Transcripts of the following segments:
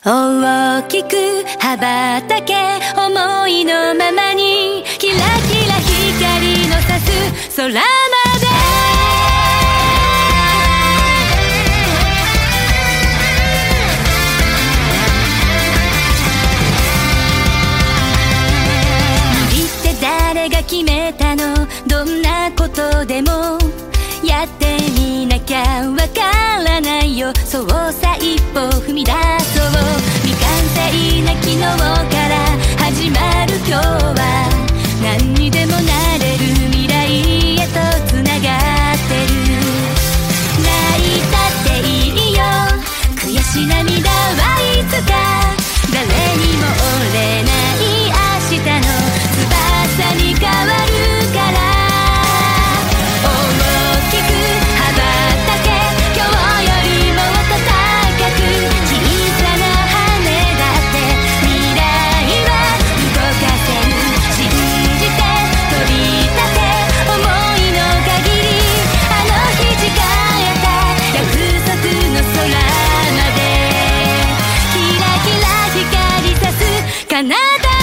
大きく羽ばたけ、思いのままにキラキラ光の差す空まで。無理って誰が決めたの？どんなことでもやってみなきゃわからないよ。そうさ、一歩踏み出そう。未完成な昨日から始まる今日は、何にでもなれる未来へとつながってる。泣いたっていいよ、悔し涙はいつか誰にも折れない明日の翼に変わるから。カナダ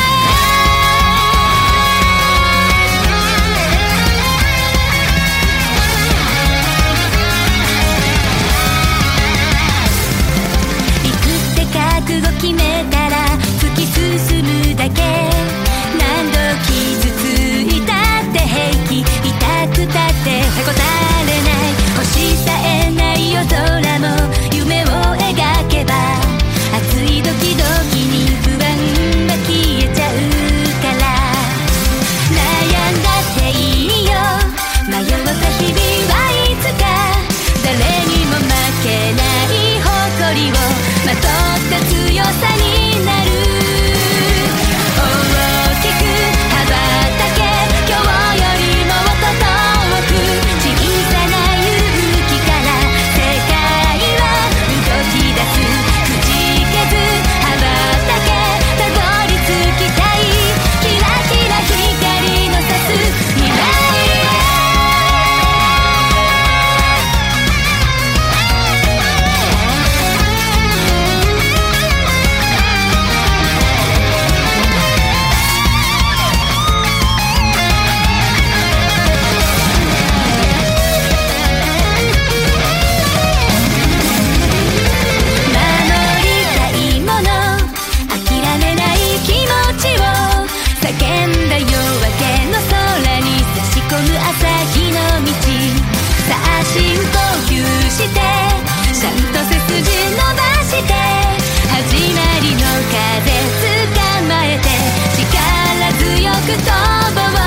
行くって覚悟決めたら突き進むだけ。何度傷ついたって平気、痛くたってへこたれない。星さえない夜空も夢を描けば、熱いドキドキに不安は消えちゃうから。悩んだっていいよ、迷った日々はいつか誰にも負けない誇りをまとった強さになる。大きく羽ばたけ、今日よりもっと遠く、小さな勇気から世界は動き出す。くじけず羽ばたけ、たどり着きたいキラキラ光の差す未来へ。守りたいもの、諦めない気持ちを叫んだ夜明けの空に差し込む朝日の道。さあ深呼吸して、ちゃんと背筋伸ばして、始まりの風捕まえて力強く飛ぼう。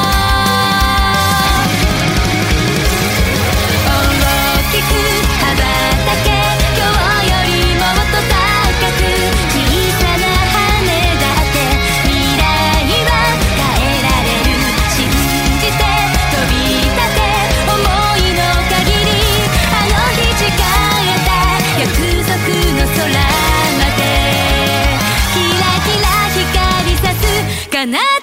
大きく羽ばたけ、今日よりもっと高く、小さな羽だって未来は変えられる。信じて飛び立て、思いの限りあの日誓えた約束の空まで。キラキラ光さすカナダ